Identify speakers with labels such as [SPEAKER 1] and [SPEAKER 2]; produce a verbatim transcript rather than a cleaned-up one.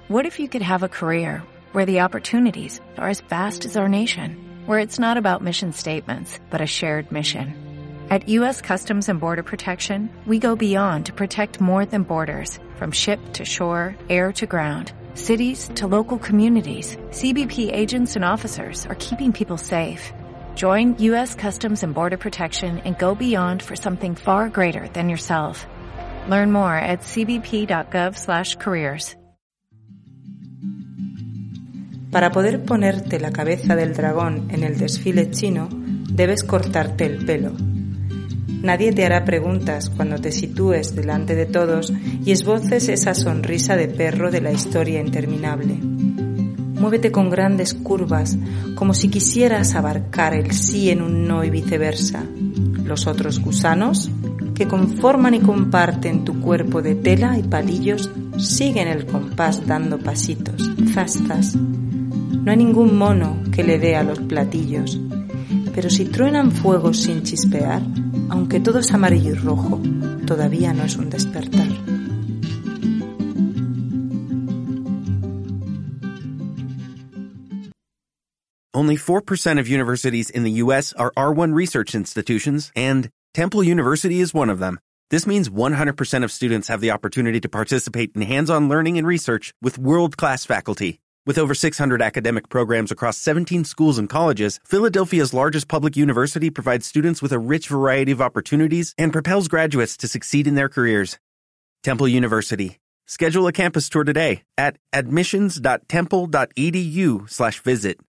[SPEAKER 1] What if you could have a career where the opportunities are as vast as our nation, where it's not about mission statements, but a shared mission? At U S Customs and Border Protection, we go beyond to protect more than borders. From ship to shore, air to ground, cities to local communities, C B P agents and officers are keeping people safe. Join U S Customs and Border Protection and go beyond for something far greater than yourself. Learn more at c b p dot gov slash careers.
[SPEAKER 2] Para poder ponerte la cabeza del dragón en el desfile chino, debes cortarte el pelo. Nadie te hará preguntas cuando te sitúes delante de todos y esboces esa sonrisa de perro de la historia interminable. Muévete con grandes curvas, como si quisieras abarcar el sí en un no y viceversa. Los otros gusanos, que conforman y comparten tu cuerpo de tela y palillos, siguen el compás dando pasitos, zas, zas. No hay ningún mono que le dé a los platillos, pero si truenan fuegos sin chispear, aunque todo es amarillo y rojo, todavía no es un despertar.
[SPEAKER 3] Only four percent of universities in the U S are R one research institutions, and Temple University is one of them. This means one hundred percent of students have the opportunity to participate in hands-on learning and research with world-class faculty. With over six hundred academic programs across seventeen schools and colleges, Philadelphia's largest public university provides students with a rich variety of opportunities and propels graduates to succeed in their careers. Temple University. Schedule a campus tour today at admissions dot temple dot e d u slash visit.